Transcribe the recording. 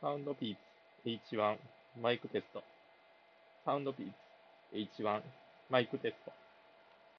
サウンドピーツ H1 マイクテスト。サウンドピーツ H1 マイクテスト。